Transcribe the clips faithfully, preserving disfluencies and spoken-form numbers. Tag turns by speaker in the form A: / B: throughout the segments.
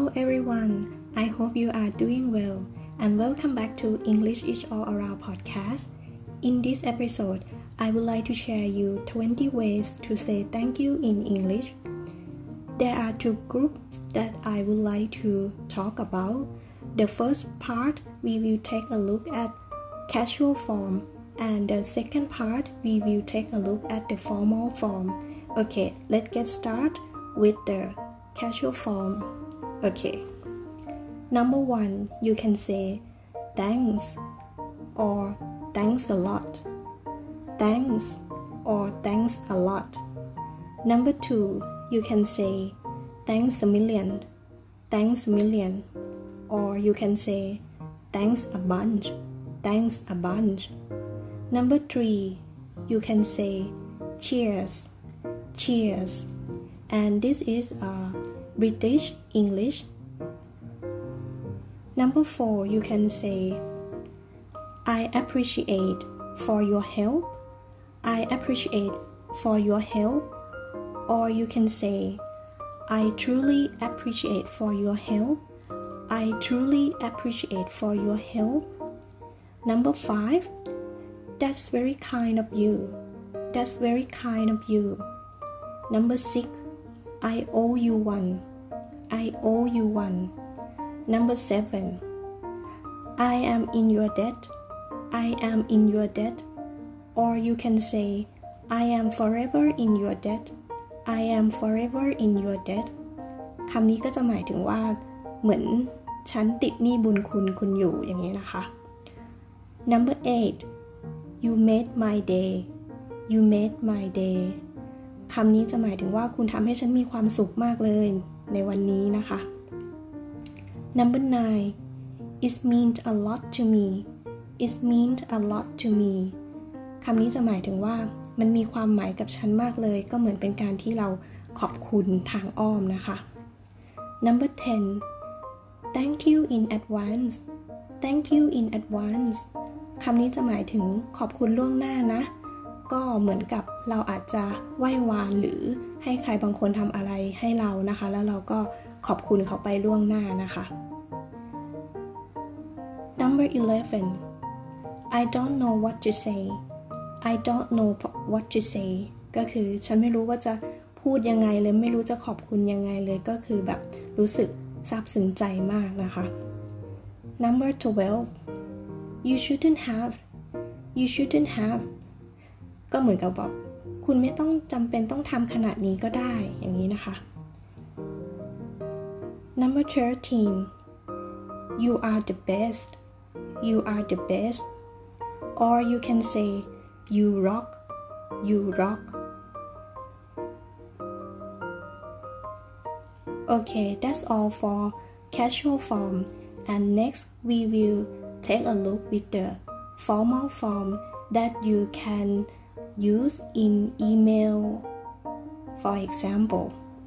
A: Hello everyone, I hope you are doing well and welcome back to English is all around podcast. In this episode, I would like to share you twenty ways to say thank you in English. There are two groups that I would like to talk about. The first part, we will take a look at casual form, and the second part, we will take a look at the formal form. Okay, let's get started with the casual form. Okay. Number one, you can say thanks or thanks a lot. Thanks or thanks a lot. Number two, you can say thanks a million. Thanks a million. Or you can say thanks a bunch. Thanks a bunch. Number three, you can say cheers. Cheers. And this is a British English. Number four, you can say I appreciate for your help. I appreciate for your help. Or you can say I truly appreciate for your help. I truly appreciate for your help. Number five, that's very kind of you. That's very kind of you. Number six, I owe you one. I owe you one. Number seven, I am in your debt. I am in your debt. Or you can say, I am forever in your debt. I am forever in your debt. คำนี้ก็จะหมายถึงว่าเหมือนฉันติดหนี้บุญคุณคุณอยู่อย่างนี้นะคะ Number eight, you made my day. You made my day. คำนี้จะหมายถึงว่าคุณทำให้ฉันมีความสุขมากเลยในวันนี้นะคะ Number nine, it meant a lot to me. It meant a lot to me. คำนี้จะหมายถึงว่ามันมีความหมายกับฉันมากเลยก็เหมือนเป็นการที่เราขอบคุณทางอ้อมนะคะ Number ten, thank you in advance. Thank you in advance. คำนี้จะหมายถึงขอบคุณล่วงหน้านะก็เหมือนกับเราอาจจะไหว้วานหรือให้ใครบางคนทำอะไรให้เรานะคะแล้วเราก็ขอบคุณเขาไปล่วงหน้านะคะ Number eleven, I don't know what to say. I don't know what to say ก็คือฉันไม่รู้ว่าจะพูดยังไงเลยไม่รู้จะขอบคุณยังไงเลยก็คือแบบรู้สึกซาบซึ้งใจมากนะคะ Number twelve, you shouldn't have. You shouldn't haveก็เหมือนกับแบบคุณไม่ต้องจำเป็นต้องทำขนาดนี้ก็ได้อย่างนี้นะคะ Number thirteen, you are the best. You are the best. Or you can say you rock. You rock. Okay, that's all for casual form. And next we will take a look with the formal form that you can use in email. For example,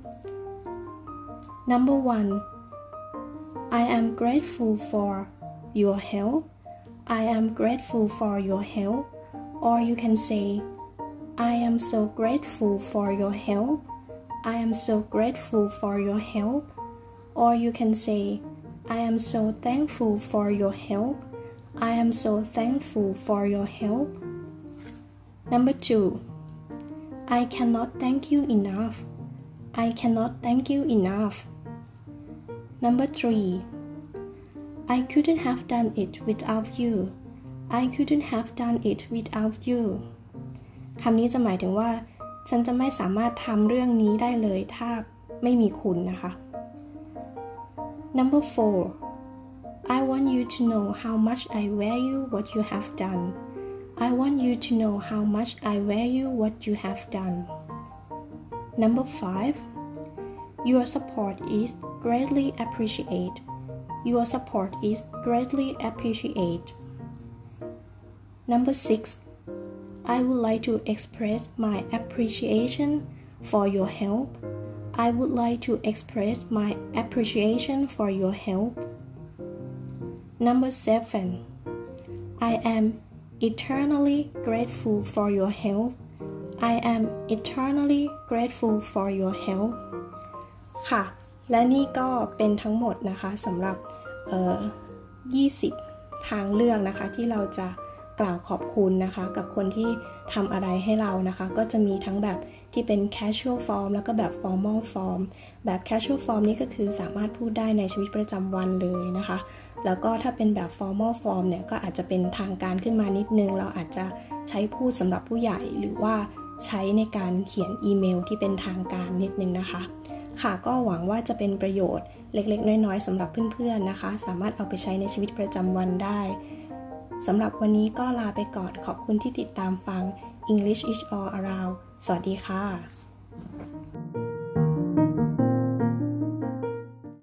A: number one, I am grateful for your help. I am grateful for your help. Or you can say, I am so grateful for your help. I am so grateful for your help. Or you can say, I am so thankful for your help. I am so thankful for your help. Number two, I cannot thank you enough. I cannot thank you enough. Number three, I couldn't have done it without you. I couldn't have done it without you. คำนี้จะหมายถึงว่าฉันจะไม่สามารถทำเรื่องนี้ได้เลยถ้าไม่มีคุณนะคะ Number four, I want you to know how much I value what you have done. I want you to know how much I value what you have done. Number five, your support is greatly appreciated. Your support is greatly appreciated. Number six, I would like to express my appreciation for your help. I would like to express my appreciation for your help. Number seven, I am eternally grateful for your help. I am eternally grateful for your help. ค่ะและนี่ก็เป็นทั้งหมดนะคะสำหรับเอ่อยี่สิบทางเลือกนะคะที่เราจะกล่าวขอบคุณนะคะกับคนที่ทำอะไรให้เรานะคะก็จะมีทั้งแบบที่เป็น casual form แล้วก็แบบ formal form แบบ casual form นี่ก็คือสามารถพูดได้ในชีวิตประจำวันเลยนะคะแล้วก็ถ้าเป็นแบบ formal form เนี่ยก็อาจจะเป็นทางการขึ้นมานิดนึงเราอาจจะใช้พูดสำหรับผู้ใหญ่หรือว่าใช้ในการเขียนอีเมลที่เป็นทางการนิดนึงนะคะค่ะก็หวังว่าจะเป็นประโยชน์เล็กๆน้อยๆสำหรับเพื่อนๆนะคะสามารถเอาไปใช้ในชีวิตประจำวันได้สำหรับวันนี้ก็ลาไปก่อนขอบคุณที่ติดตามฟัง English is all around สวัสดีค่ะ